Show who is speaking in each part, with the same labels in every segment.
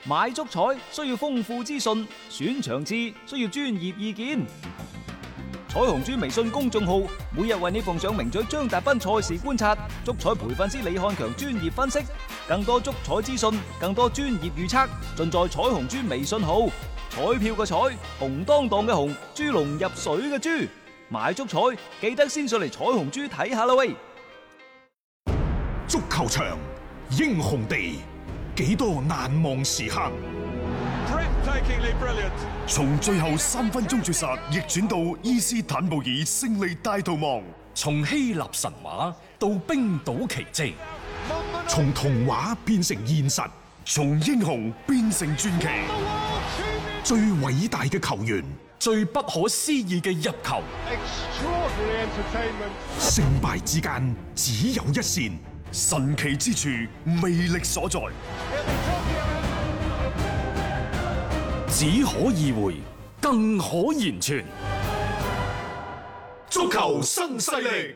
Speaker 1: 買足彩需要豐富資訊，選場次需要專業意見。彩虹豬微信公眾號每日為你奉上名嘴張達斌賽事觀察、足彩培訓師李漢強專業分析，更多足彩資訊，更多專業預測，盡在彩虹豬微信號。彩票嘅彩，紅當當嘅紅，豬籠入水嘅豬，買足彩記得先上嚟彩虹豬睇下啦喂！
Speaker 2: 足球場，英雄地，幾多難忘時刻。從最後3分鐘絕殺逆轉到伊斯坦布爾勝利大逃亡，
Speaker 3: 從希臘神話到冰島奇蹟，
Speaker 2: 從童話變成現實，從英雄變成傳奇。最偉大嘅球員，
Speaker 3: 最不可思議嘅入球，
Speaker 2: 勝敗之間只有一線，神奇之處魅力所在，
Speaker 3: 只可意會，更可言傳。
Speaker 2: 足球新勢力。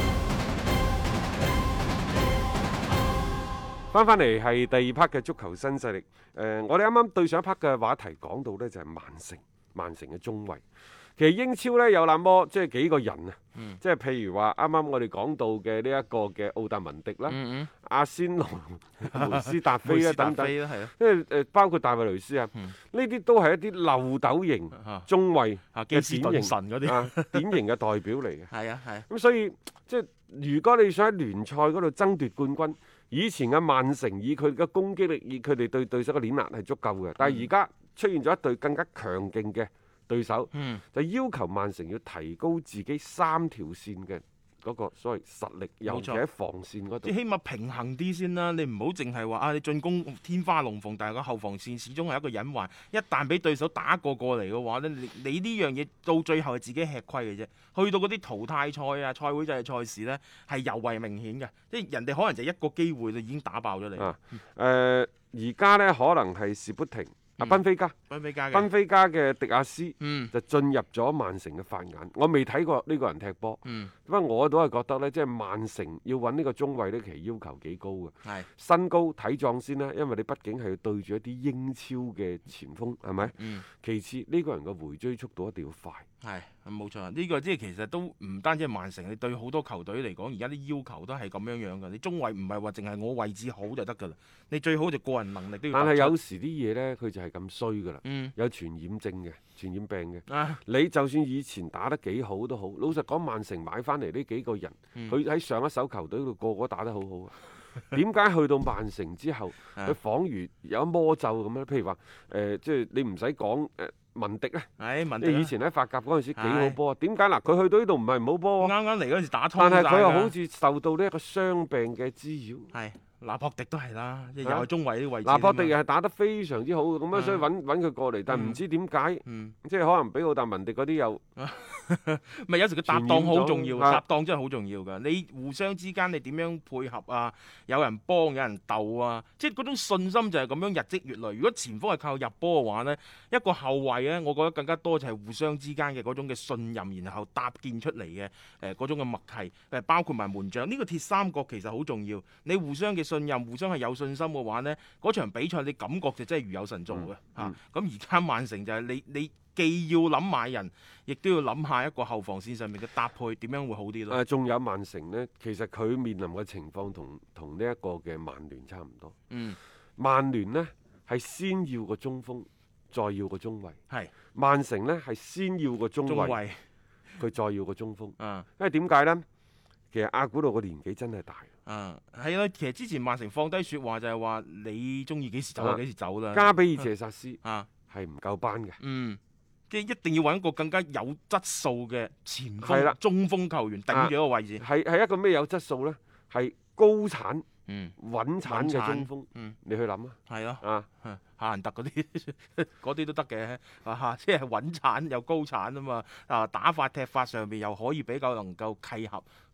Speaker 4: 翻嚟係第2 part 嘅足球新勢力。我哋啱啱對上一 part 嘅話題講到呢，就係曼城嘅中衞。其實英超呢，有那麼即係幾個人啊，即係譬如話啱啱我哋講到嘅呢一個嘅奧達文迪啦、阿仙奴、梅斯達菲啦等等，因為包括大衛雷斯啊，呢啲都係一啲漏斗型中衞嘅典型典型嘅代表嚟嘅。
Speaker 5: 係啊係。
Speaker 4: 咁所以即係如果你想喺聯賽嗰度爭奪冠軍，以前嘅曼城以佢嘅攻擊力，以佢哋對對手嘅碾壓係足夠嘅，但係而家出現咗一隊更加強勁嘅對手，就要求曼城要提高自己3條線嘅嗰個所謂實力，尤其喺防線嗰度。
Speaker 5: 即起碼平衡啲先啦，你唔好淨係話你進攻天花龍鳳，但係個後防線始終係一個隱患。一旦俾對手打過嚟嘅話咧，你呢樣嘢到最後係自己吃虧嘅啫。去到嗰啲淘汰賽啊、賽會制嘅賽事呢，係尤為明顯嘅，即係人哋可能就一個機會就已經打爆咗你。
Speaker 4: 而家呢，可能係士砵亭。賓菲加嘅迪亞斯就進入咗曼城嘅法眼。我未睇過呢個人踢波，不過我都係覺得呢，即係曼城要揾呢個中衞呢，其實要求幾高嘅。身高體壯先啦，因為你畢竟係要對住一啲英超嘅前鋒，係咪？其次呢個人嘅回追速度一定要快。
Speaker 5: 係冇錯，呢個即係其實都唔單止係曼城，你對好多球隊嚟講，而家啲要求都係咁樣嘅。你中衞唔係話淨係我位置好就得㗎啦，你最好就個人能力都要。但係
Speaker 4: 有時啲嘢呢，佢就係咁衰㗎啦，有傳染症嘅、傳染病嘅。你就算以前打得幾好都好，老實講，曼城買翻嚟呢幾個人，佢喺上一手球隊度個個打得好好啊。點解去到曼城之後，佢仿如有魔咒咁樣？譬如話即係你唔使講文迪咧，以前喺法甲嗰陣時幾好波啊？點解嗱？佢去到呢度唔係唔好波喎，
Speaker 5: 啱啱嚟嗰陣時打通，
Speaker 4: 但係佢又好似受到呢一個傷病嘅滋擾。
Speaker 5: 拿破迪都係啦，又係中衞啲位置。
Speaker 4: 拿破迪又係打得非常之好嘅，咁樣所以揾佢過嚟，但係唔知點解，即係可能比奧達文迪嗰啲又
Speaker 5: 咪有時個搭檔好重要，搭檔真係好重要㗎。你互相之間你點樣配合啊？有人幫，有人鬥啊，即係嗰種信心就係咁樣日積月累。如果前鋒係靠入波嘅話呢，一個後衞呢，我覺得更加多就係互相之間嘅嗰種嘅信任，然後搭建出嚟嘅嗰種嘅默契，包括埋門將呢個鐵三角其實好重要。你互相嘅信任，互相係有信心嘅話呢，嗰場比賽你感覺就真係如有神助嘅嚇。咁而家曼城就係你既要諗買人，亦都要諗下一個後防線上面嘅搭配點樣會好啲咯。
Speaker 4: 仲有曼城呢，其實佢面臨嘅情況同呢一個嘅曼聯差唔多。曼聯呢係先要個中鋒，再要個中衞。曼城呢係先要個中衞，佢再要個中鋒。因為點解呢？其實阿古路個年紀真係大。
Speaker 5: 係啦，其實之前曼城放低説話就係話你中意幾時走就幾時走啦。
Speaker 4: 加比爾謝薩斯係唔夠班嘅。
Speaker 5: 即係一定要揾一個更加有質素嘅前鋒、中鋒球員頂住嗰個位置。
Speaker 4: 係一個咩有質素呢？係高產、穩產嘅中鋒。你去諗啊。係咯。
Speaker 5: 夏蘭特嗰啲都得嘅，即係穩產又高產啊嘛。打法踢法上面又可以比較能夠契合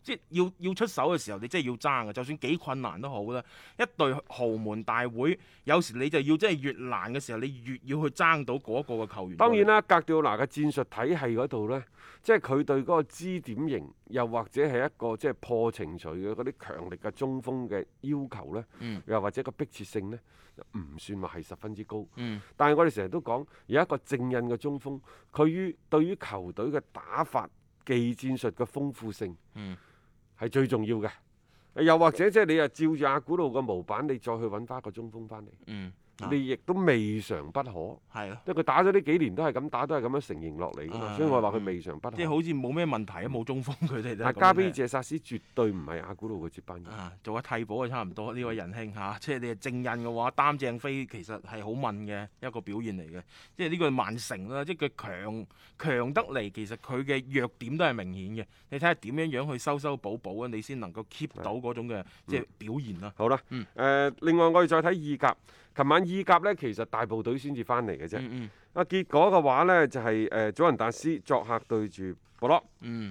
Speaker 5: 即係要出手嘅時候，你真係要爭嘅，就算幾困難都好啦。一隊豪門大會，有時你就要真係越難嘅時候，你越要去爭到嗰個嘅球員。
Speaker 4: 當然啦，格調拿嘅戰術體系嗰度呢，即係佢對嗰個支點型，又或者係一個即係破程序嘅嗰啲強力嘅中鋒嘅要求呢，又或者個迫切性呢，唔算話係十分之高。但係我哋成日都講有一個正印嘅中鋒，佢對於球隊嘅打法、技戰術嘅豐富性，係最重要嘅。又或者即係你又照住阿古路嘅模板，你再去揾翻個中鋒翻嚟。你亦都未嘗不可，
Speaker 5: 係咯，
Speaker 4: 因為佢打咗呢幾年都係咁打，都係咁樣承認落嚟㗎嘛，所以我話佢未嘗不可。
Speaker 5: 即係好似冇咩問題啊，冇中鋒佢哋都。
Speaker 4: 但係加比謝薩斯絕對唔係阿古路嘅接班人。
Speaker 5: 做下替補啊，差唔多呢位仁兄嚇，即係你係正印嘅話，擔正飛其實係好問嘅一個表現嚟嘅。即係呢個曼城啦，即係佢強得嚟，其實佢嘅弱點都係明顯嘅。你睇下點樣去修補啊，你先能夠 keep 到嗰種嘅即係表現啦。
Speaker 4: 好啦，另外我哋再睇意甲。琴晚意甲呢，其實大部隊先至翻嚟嘅啫。結果嘅話呢，就係祖雲達斯作客對住博洛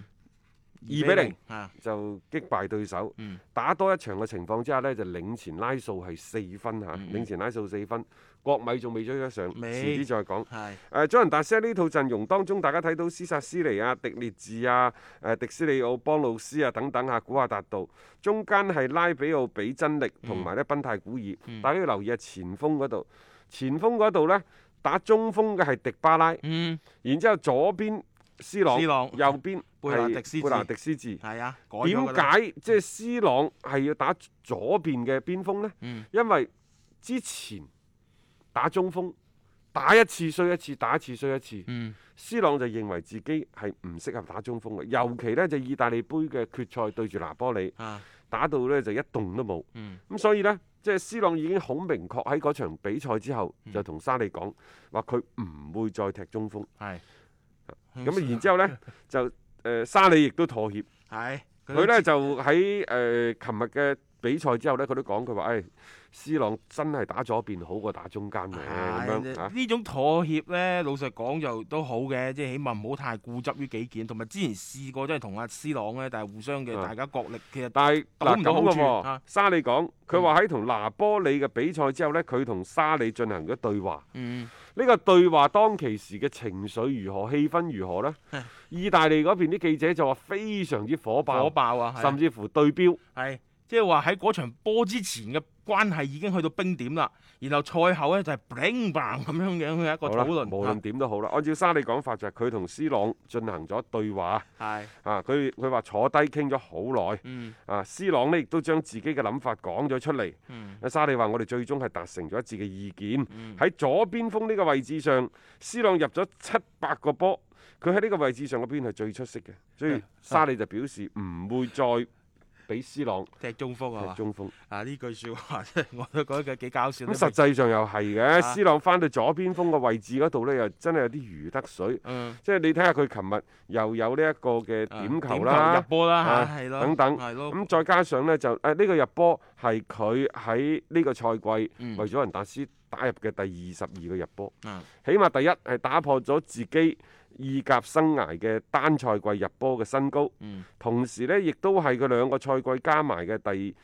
Speaker 4: ，2-0就擊敗對手。打多一場嘅情況之下呢，就領前拉數係4分嚇，領前拉數4分。國米仲未追得上，遲啲再講。祖雲達斯喺呢套陣容當中，大家睇到斯薩斯尼啊、迪列治啊、迪斯利奧、邦魯斯啊等等啊，古亞達道，中間係拉比奧比真力同埋咧賓泰古爾。大家要留意下前鋒嗰度，前鋒嗰度呢，打中鋒嘅係迪巴拉，然之後左邊斯朗，右邊係貝拿迪斯治。
Speaker 5: 係啊，
Speaker 4: 點解即係斯朗係要打左邊嘅邊鋒呢？因為之前打中鋒，打一次衰一次，打一次衰一次。斯朗就認為自己係唔適合打中鋒嘅，尤其呢，就意大利杯嘅決賽對住拿波里，打到呢就一動都冇。咁所以呢，即係斯朗已經好明確喺嗰場比賽之後，就同沙利講話佢唔會再踢中鋒。咁然之後呢，就沙利亦都妥協。佢呢就喺琴日嘅比賽之後呢，佢都講佢話斯朗真係打左邊好過打中間嘅咁樣。
Speaker 5: 呢種妥協呢，老實講就都好嘅，即係起碼唔好太固執於己見。同埋之前試過真係同阿斯朗呢，但係互相嘅大家角力，其實
Speaker 4: 但係
Speaker 5: 攞唔到好處。
Speaker 4: 沙利講佢話喺同拿波里嘅比賽之後呢，佢同沙利進行咗對話。呢個對話當其時嘅情緒如何、氣氛如何呢？意大利嗰邊啲記者就話非常之火爆啊，甚至乎對標。即係話喺嗰場波之前嘅關係已經去到冰點啦，然後賽後呢，就係 bling bang 咁樣嘅一個討論。無論點都好啦，按照沙利講法就係佢同斯朗進行咗對話。佢話坐低傾咗好耐。斯朗呢亦都將自己嘅諗法講咗出嚟。沙利話我哋最終係達成咗一致嘅意見。喺左邊鋒呢個位置上，斯朗入咗700個波，佢喺呢個位置上嗰邊係最出色嘅，所以沙利就表示唔會再俾斯朗
Speaker 5: 踢中鋒啊！
Speaker 4: 踢中鋒
Speaker 5: 呢句説話真係我都覺得幾搞笑。
Speaker 4: 咁實際上又係嘅，斯朗翻到左邊鋒嘅位置嗰度呢，又真係有啲如得水。即係你睇下佢琴日又有呢一個嘅點球啦、
Speaker 5: 入波啦
Speaker 4: 等等。咁再加上呢，就呢個入波係佢喺呢個賽季為祖雲達斯打入嘅第22個入波。起碼第一係打破咗自己意甲生涯嘅單賽季入波嘅新高，同時呢亦都係佢2個賽季加埋嘅第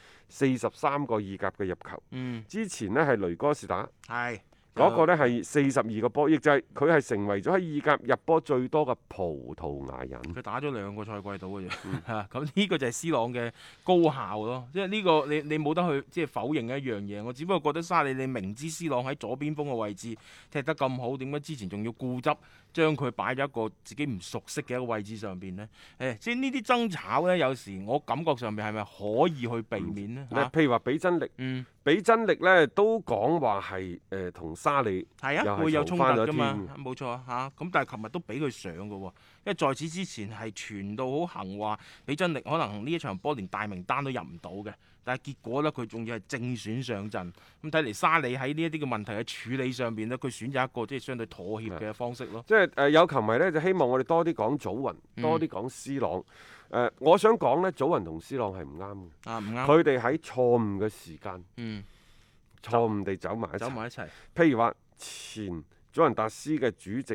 Speaker 4: 43個意甲嘅入球。之前呢係雷哥士打，嗰個呢係42個波，亦就係佢係成為咗喺意甲入波最多嘅葡萄牙人。
Speaker 5: 佢打咗2個賽季到嘅啫，咁呢個就係斯朗嘅高效咯。即係呢個你冇得去即係否認一樣嘢。我只不過覺得沙利你明知斯朗喺左邊鋒嘅位置踢得咁好，點解之前仲要固執將佢擺咗一個自己唔熟悉嘅一個位置上邊呢？即係呢啲爭吵呢，有時我感覺上面係咪可以去避免呢？
Speaker 4: 譬如話比真力，比真力呢都講話係同沙利
Speaker 5: 會有衝突㗎嘛，冇錯嚇。咁但係琴日都俾佢上㗎喎，因為在此之前係傳到好行話，比真力可能呢一場波連大名單都入唔到嘅。但係結果呢，佢仲要係正選上陣。咁睇嚟沙利喺呢一啲嘅問題嘅處理上邊呢，佢選擇一個即係相對妥協嘅方式咯。
Speaker 4: 即係有球迷呢，就希望我哋多啲講祖雲，多啲講斯朗。我想講呢，祖雲同斯朗係唔啱嘅。唔啱。佢哋喺錯誤嘅時間，錯誤地走埋一齊。譬如話前祖雲達斯嘅主席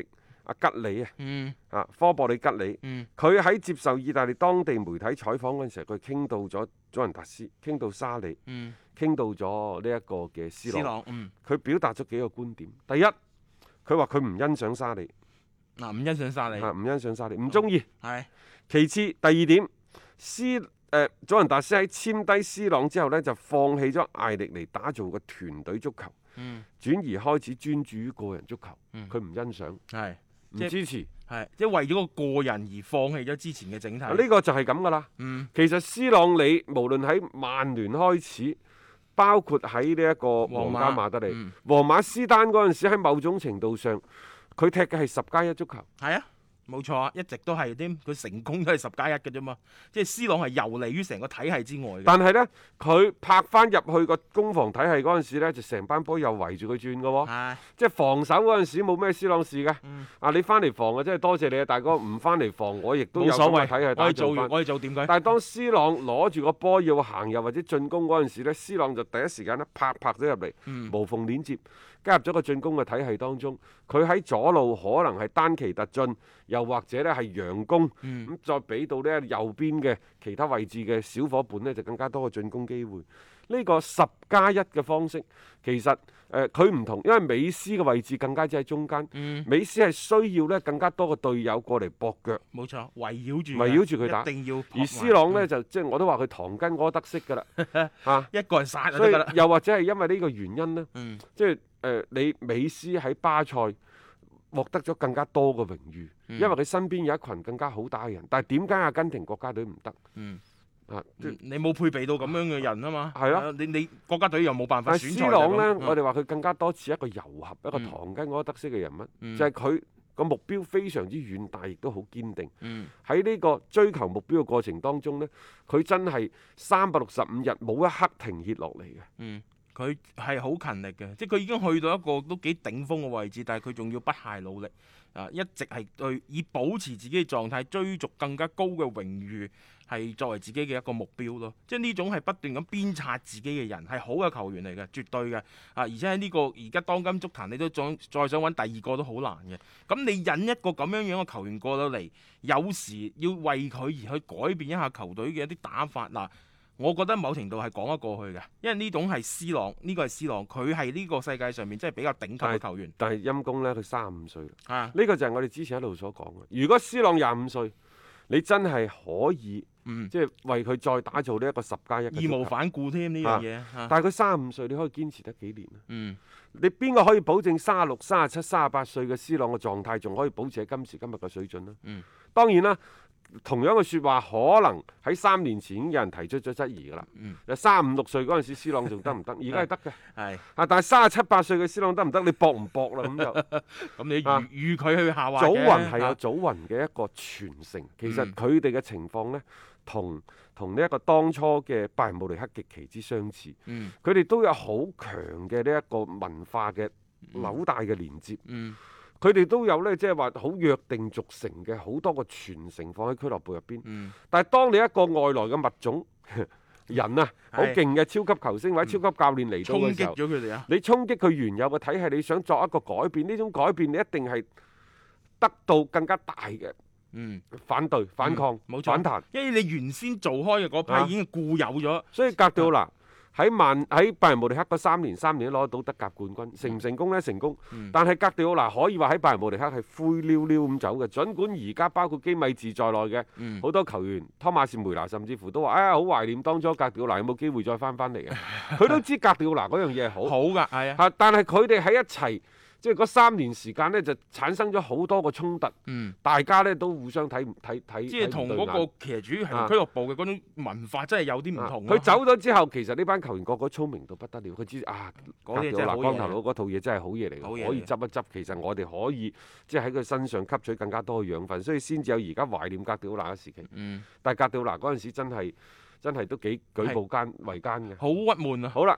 Speaker 4: 阿吉里啊，
Speaker 5: 嗯
Speaker 4: 科博里吉里，
Speaker 5: 嗯
Speaker 4: 佢喺接受意大利當地媒體採訪嗰陣時候，佢傾到咗祖雲達斯，傾到沙里，
Speaker 5: 嗯，
Speaker 4: 傾到咗呢一個嘅斯朗，
Speaker 5: 斯朗
Speaker 4: 佢表達咗幾個觀點。第一，佢話佢唔欣賞沙利，
Speaker 5: 嗱唔欣賞沙利，
Speaker 4: 唔欣賞沙利，唔中意。
Speaker 5: 係
Speaker 4: 其次，第二點，祖雲達斯喺簽低斯朗之後呢，就放棄咗艾力尼打造嘅團隊足球，轉而開始專注於個人足球。佢唔欣賞，
Speaker 5: 係
Speaker 4: 唔支持。
Speaker 5: 係即係為咗個人而放棄咗之前嘅整體。
Speaker 4: 呢個就係咁噶啦。其實斯朗你無論喺曼聯開始，包括喺呢一個皇家馬德里、皇馬斯丹嗰陣時，喺某種程度上，佢踢嘅係10+1足球。
Speaker 5: 係啊，冇錯啊，一直都係啲佢成功都係10+1嘅啫嘛。即係斯朗係遊離於成個體系之外嘅。
Speaker 4: 但係呢，佢拍翻入去個攻防體系嗰陣時呢，就成班波又圍住佢轉嘅喎。即係防守嗰陣時冇咩斯朗事嘅。你翻嚟防啊，真係多謝你啊，大哥！唔翻嚟防我亦都有咁嘅體系打造翻。
Speaker 5: 我哋做點解？
Speaker 4: 但係當斯朗攞住個波要行入或者進攻嗰陣時呢，斯朗就第一時間咧拍咗入嚟，無縫連接，加入咗個進攻嘅體系當中。佢喺左路可能係單旗突進，又或者咧係佯攻，咁再俾到呢右邊嘅其他位置嘅小伙伴呢，就更加多嘅進攻機會。呢個10+1嘅方式其實佢唔同，因為美斯嘅位置更加之喺中間，美斯係需要咧更加多嘅隊友過嚟駁腳，
Speaker 5: 冇錯，圍繞住
Speaker 4: 佢打，
Speaker 5: 一定要。
Speaker 4: 而斯朗呢，就即係我都話佢唐根柯德式㗎啦，
Speaker 5: 一個人殺就
Speaker 4: 所以
Speaker 5: 得㗎啦。
Speaker 4: 又或者係因為呢個原因呢，即係你美斯喺巴塞獲得咗更加多嘅榮譽，因為佢身邊有一群更加好打嘅人。但係點解阿根廷國家隊唔得？
Speaker 5: 你冇配備到咁樣嘅人啊嘛。
Speaker 4: 係咯，
Speaker 5: 你國家隊又冇辦法選材。
Speaker 4: 斯朗呢，我哋話佢更加多似一個柔合、一個唐根柯德式嘅人物，就係佢個目標非常之遠大，亦都好堅定。喺呢個追求目標嘅過程當中呢，佢真係365日冇一刻停歇落嚟嘅。
Speaker 5: 佢係好勤力嘅，即係佢已經去到一個都幾頂峰嘅位置，但係佢仲要不懈努力，一直係對以保持自己嘅狀態，追逐更加高嘅榮譽，係作為自己嘅一個目標咯。即係呢種係不斷咁鞭策自己嘅人，係好嘅球員嚟嘅，絕對嘅。而且喺呢個而家當今足壇，你都再想揾第二個都好難嘅。咁你引一個咁樣樣嘅球員過到嚟，有時要為佢而去改變一下球隊嘅一啲打法嗱。我覺得某程度係講得過去嘅，因為呢種係斯朗，呢個係斯朗，佢係呢個世界上面真係比較頂級嘅球員。
Speaker 4: 但係陰公呢，佢35歲啦。呢個就係我哋之前一路所講嘅。如果斯朗25歲，你真係可以，即係為佢再打造呢一個10+1。
Speaker 5: 義無反顧添呢樣嘢。
Speaker 4: 但係佢35歲，你可以堅持得幾年啊？你邊個可以保證36、37、38歲嘅斯朗嘅狀態仲可以保持喺今時今日嘅水準呢？當然啦。同樣嘅説話，可能喺3年前已經有人提出咗質疑㗎啦。35、6歲嗰陣時，斯朗仲得唔得？而家係得嘅。係但係37、8歲嘅斯朗得唔得？你搏唔搏啦？咁就
Speaker 5: 咁你預佢去下滑嘅。
Speaker 4: 祖雲係有祖雲嘅一個傳承，其實佢哋嘅情況呢，同呢一個當初嘅拜仁慕尼黑極其之相似。佢哋都有好強嘅呢一個文化嘅紐帶嘅連接。佢哋都有呢，即係話好約定俗成嘅好多個傳承放喺俱樂部入邊。但係當你一個外來嘅物種人啊，好勁嘅超級球星或者超級教練嚟到嘅時候，
Speaker 5: 衝擊咗佢哋啊！
Speaker 4: 你衝擊佢原有嘅體系，你想作一個改變，呢種改變你一定係得到更加大嘅反對、反抗、反彈，
Speaker 5: 因為你原先做開嘅嗰批已經固有咗。
Speaker 4: 所以格調嗱。喺拜仁慕尼黑嗰3年都攞到德甲冠軍，成唔成功呢？成功。但係格迪奧拿可以話喺拜仁慕尼黑係灰溜溜咁走嘅。儘管而家包括基米治在內嘅好多球員，湯馬士梅拿甚至乎都話：好懷念當初格迪奧拿有冇機會再翻嚟嘅？佢都知格迪奧拿嗰樣嘢係好
Speaker 5: 㗎，係啊。
Speaker 4: 但係佢哋喺一齊。即係嗰3年時間呢，就產生咗好多個衝突，大家呢都互相睇。即係
Speaker 5: 同嗰個其實主要係俱樂部嘅嗰種文化真係有啲唔同。
Speaker 4: 佢走咗之後，其實呢班球員個個聰明到不得了，佢知嗰啲光頭佬嗰套嘢真係好嘢嚟嘅，可以執一執。其實我哋可以即係喺佢身上吸取更加多嘅養分，所以先至有而家懷念格迪奧拿嘅時期。但係格迪奧拿嗰陣時真係都幾舉步維艱嘅，
Speaker 5: 好鬱悶啊！
Speaker 4: 好啦。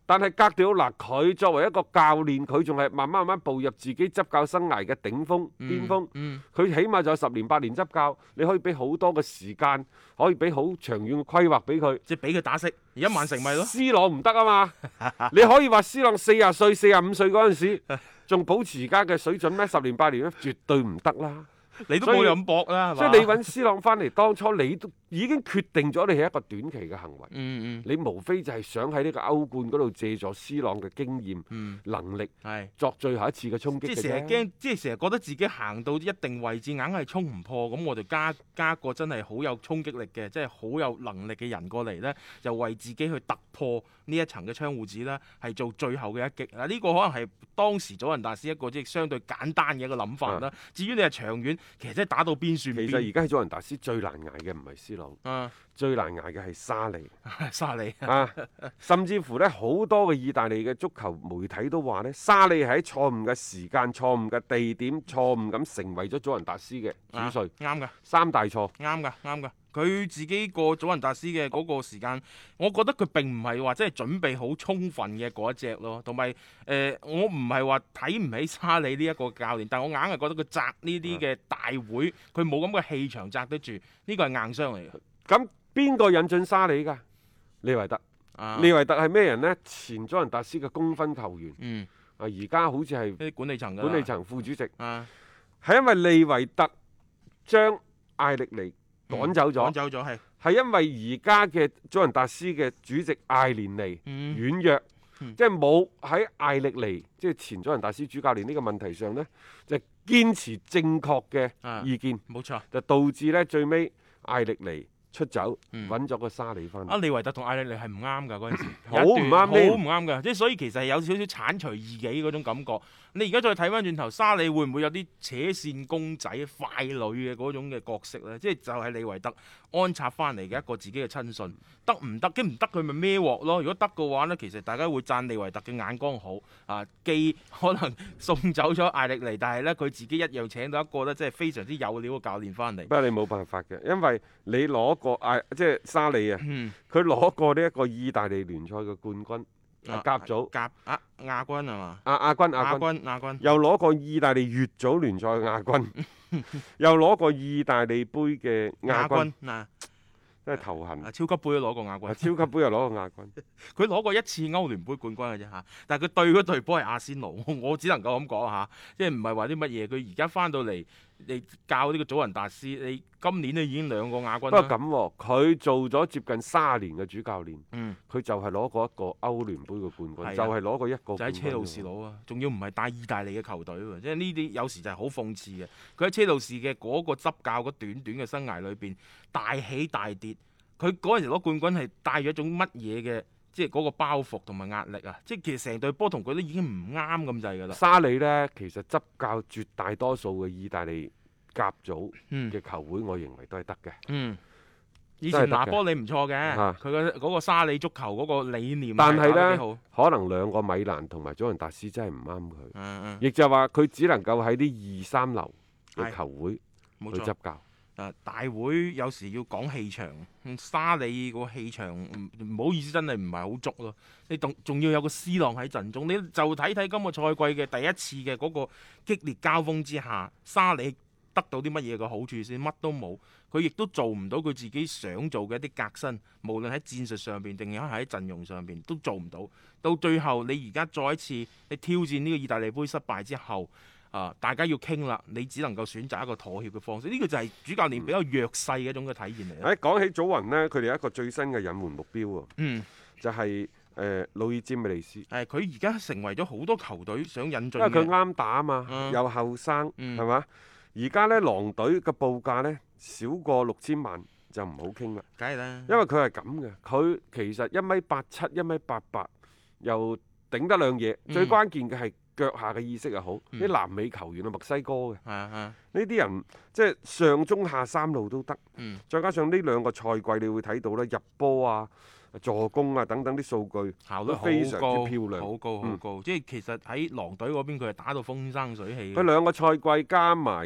Speaker 4: 但係格調嗱，佢作為一個教練，佢仲係慢慢步入自己執教生涯嘅頂峰、巔峰。佢起碼就有10年8年執教，你可以俾好多嘅時間，可以俾好長遠嘅規劃俾佢。
Speaker 5: 即係俾佢打識。而家曼城咪咯
Speaker 4: ，C 朗唔得啊嘛！你可以話 C 朗40歲、45歲嗰陣時，仲保持而家嘅水準咩？10年8年咧，絕對唔得啦。
Speaker 5: 你都冇咁搏啦，
Speaker 4: 所以你揾 C 朗翻嚟，當初你都已經決定咗你係一個短期嘅行為。你無非就係想喺呢個歐冠嗰度借助 C 朗嘅經驗、能力，作最後一次嘅衝擊嘅啫。
Speaker 5: 即係成日驚，即係成日覺得自己行到一定位置，硬係衝唔破，咁我就加個真係好有衝擊力嘅，即係好有能力嘅人過嚟呢，就為自己去突破呢一層嘅窗戶紙啦，係做最後嘅一擊。嗱，呢個可能係當時祖雲達斯一個即係相對簡單嘅一個諗法啦。至於你係長遠，其實真係打到邊算邊。
Speaker 4: 其實而家喺祖雲達斯最難捱嘅唔係 C 朗，最難捱嘅係沙利。
Speaker 5: 沙利
Speaker 4: 甚至乎呢，好多嘅意大利嘅足球媒體都話呢，沙利喺錯誤嘅時間、錯誤嘅地點、錯誤咁成為咗祖雲達斯嘅主帥。
Speaker 5: 啱㗎
Speaker 4: ，3大錯。
Speaker 5: 啱㗎。佢自己過祖雲達斯嘅嗰個時間，我覺得佢並唔係話真係準備好充分嘅嗰一隻咯。同埋我唔係話睇唔起沙利呢一個教練，但我硬係覺得佢擲呢啲嘅大會，佢冇咁嘅氣場擲得住，呢個係硬傷嚟嘅。
Speaker 4: 咁邊個引進沙利㗎？利維特。利維特係咩人呢？前祖雲達斯嘅功勳球員。而家好似係
Speaker 5: 啲管理層
Speaker 4: 副主席。係因為利維特將艾力尼趕走咗，係因為而家嘅祖雲達斯嘅主席艾連尼軟弱，即係冇喺艾力尼即係前祖雲達斯主教練呢個問題上呢，就堅持正確嘅意見，
Speaker 5: 冇錯，
Speaker 4: 就導致呢最尾艾力尼出走，揾咗個沙利翻嚟。
Speaker 5: 利維特同艾力尼係唔啱㗎嗰陣時，
Speaker 4: 好唔啱，
Speaker 5: 好唔啱㗎，即係所以其實係有少少剷除異己嗰種感覺。你而家再睇翻轉頭，沙利會唔會有啲扯線公仔、傀儡嘅嗰種嘅角色呢？即係就係利維特安插翻嚟嘅一個自己嘅親信，得唔得？唔得佢咪孭鑊咯？如果得嘅話呢，其實大家會讚利維特嘅眼光好啊，既可能送走咗艾力尼，但係呢，佢自己一樣請到一個呢，即係非常之有料嘅教練翻嚟。
Speaker 4: 不過你冇辦法嘅，因為你攞過即係沙利啊，佢攞過呢一個意大利聯賽嘅冠軍。甲組
Speaker 5: 亞軍係嘛？
Speaker 4: 亞軍，又攞過意大利乙組聯賽嘅亞軍，又攞過意大利杯嘅亞軍，真係頭痕。
Speaker 5: 超級杯都攞過亞軍，
Speaker 4: 超級杯又攞過亞軍。
Speaker 5: 佢攞過一次歐聯杯冠軍嘅啫嚇，但係佢對嗰隊波係阿仙奴，我只能夠咁講嚇，即係唔係話啲乜嘢。佢而家翻到嚟，你教呢個祖雲達斯，你今年咧已經2個亞軍。
Speaker 4: 不過咁，佢做咗接近30年嘅主教練，佢就係攞過一個歐聯杯嘅冠軍，就係攞過一個。
Speaker 5: 就喺車路士攞啊，仲要唔係帶意大利嘅球隊喎，即係呢啲有時就係好諷刺嘅。佢喺車路士嘅嗰個執教嗰短短嘅生涯裏邊，大起大跌。佢嗰陣時攞冠軍係帶咗一種乜嘢嘅，即係嗰個包袱同埋壓力啊！即係其實成隊波同佢都已經唔啱咁滯㗎啦。
Speaker 4: 沙利呢，其實執教絕大多數嘅意大利甲組嘅球會，我認為都係得嘅。
Speaker 5: 以前拿波利唔錯嘅，佢嘅嗰個沙利足球嗰個理念，
Speaker 4: 但係呢，可能2個米蘭同埋祖雲達斯真係唔啱佢。亦就係話佢只能夠喺啲2、3流嘅球會去執教。
Speaker 5: 大會有時要講氣場，沙利個氣場唔好意思，真係唔係好足咯。你仲要有個 C 朗喺陣中，你就睇睇今個賽季嘅第一次嘅嗰個激烈交鋒之下，沙利得到啲乜嘢嘅好處先？乜都冇，佢亦都做唔到佢自己想做嘅一啲革新，無論喺戰術上邊定係喺陣容上邊都做唔到。到最後你而家再一次你挑戰呢個意大利杯失敗之後。大家要傾啦，你只能夠選擇一個妥協嘅方式，呢個就係主教練比較弱勢嘅一種嘅體現嚟。
Speaker 4: 講起祖雲呢，佢哋有一個最新嘅引援目標喎，就係魯爾詹美利斯。
Speaker 5: 佢而家成為咗好多球隊想引進，
Speaker 4: 因為佢啱打啊嘛，又後生，係嘛？而家呢，狼隊嘅報價呢，少過6000萬就唔好傾啦。
Speaker 5: 梗係啦，
Speaker 4: 因為佢係咁嘅，佢其實1米87、1米88，又頂得兩嘢，最關鍵嘅係腳下嘅意識又好，啲南美球員啊，墨西哥嘅，呢啲人即係上中下三路都得，再加上呢2個賽季，你會睇到咧入波啊、助攻啊等等啲數據
Speaker 5: 效率
Speaker 4: 非常之漂亮，
Speaker 5: 好高，即係其實喺狼隊嗰邊佢係打到風生水起。
Speaker 4: 佢2個賽季加埋入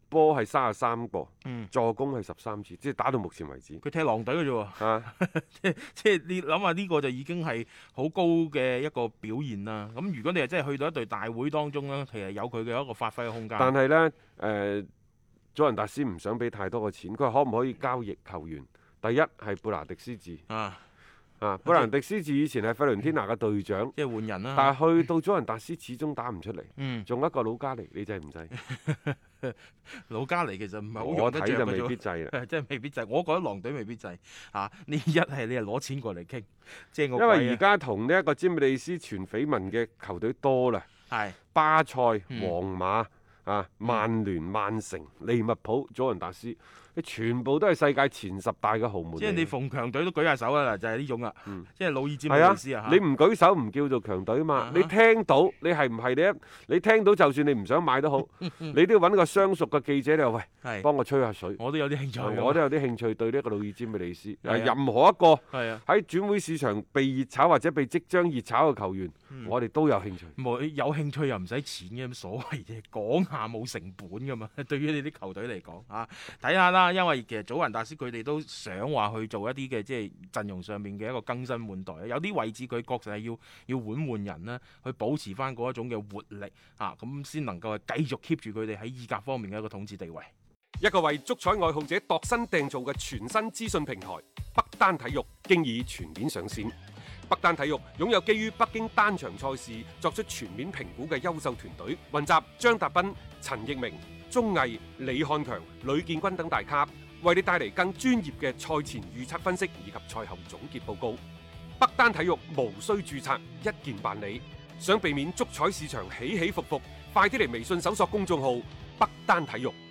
Speaker 4: 波係33個，
Speaker 5: 嗯
Speaker 4: 助攻係13次，即係打到目前為止。
Speaker 5: 佢踢狼隊嘅啫喎。
Speaker 4: 啊，
Speaker 5: 即係你諗下呢個就已經係好高嘅一個表現啦。咁如果你係真係去到一隊大會當中呢，其實有佢嘅一個發揮嘅空間。
Speaker 4: 但係呢，祖雲達斯唔想俾太多嘅錢，佢話可唔可以交易球員？第一係貝拿迪斯治
Speaker 5: 啊，
Speaker 4: 貝拿迪斯治以前係費倫天拿嘅隊長，
Speaker 5: 即係換人啦。
Speaker 4: 但係去到祖雲達斯始終打唔出嚟。
Speaker 5: 嗯，
Speaker 4: 仲有一個老加尼，你制唔制？
Speaker 5: 老加尼其實唔係好
Speaker 4: 我
Speaker 5: 用得着嘅
Speaker 4: 睇就未必
Speaker 5: 啫。
Speaker 4: 制啦。
Speaker 5: 即係未必制，我覺得狼隊未必制啊！呢一係你係攞錢過嚟傾，即係我
Speaker 4: 因為而家同呢一個詹美利斯傳緋聞嘅球隊多啦，
Speaker 5: 係
Speaker 4: 巴塞、皇
Speaker 5: 嗯
Speaker 4: 馬曼聯、曼城、利物浦、祖雲達斯，你全部都係世界前10大嘅豪門嚟嘅。
Speaker 5: 即係你逢強隊都舉下手啦，就係呢種啦。
Speaker 4: 嗯
Speaker 5: 即係魯爾詹
Speaker 4: 係啊
Speaker 5: 美利斯啊，
Speaker 4: 你唔舉手唔叫做強隊嘛？
Speaker 5: 啊
Speaker 4: 你聽到你係唔係你聽到就算你唔想買都好，你都要揾個相熟嘅記者你話喂，
Speaker 5: 係
Speaker 4: 幫我吹下水。
Speaker 5: 我都有啲興趣㗎。
Speaker 4: 我都有啲興趣對呢一個魯爾詹美利斯。
Speaker 5: 係啊
Speaker 4: 任何一個
Speaker 5: 係啊，
Speaker 4: 喺轉會市場被熱炒或者被即將熱炒嘅球員，我哋都有興趣。
Speaker 5: 冇有興趣又唔使錢嘅，咁所謂啫，講下冇成本噶嘛。對於你啲球隊嚟講啊，睇下啦，因為其實祖雲達斯佢哋都想話去做一啲嘅即係陣容上面嘅一個更新換代，有啲位置佢確實係要換人啦，去保持翻嗰一種嘅活力啊，咁先能夠係繼續 keep 住佢哋喺意甲方面嘅一個統治地位。
Speaker 6: 一個為足彩愛好者度身訂造嘅全新資訊平台北單體育，經已全面上線。北單體育擁有基於北京單場賽事作出全面評估嘅優秀團隊，雲集張達斌、陳奕明、鐘毅、李漢強、呂建軍等大咖，為你帶嚟更專業嘅賽前預測分析以及賽後總結報告。北單體育無需註冊，一鍵辦理。想避免足彩市場起起伏伏，快啲嚟微信搜索公眾號北單體育。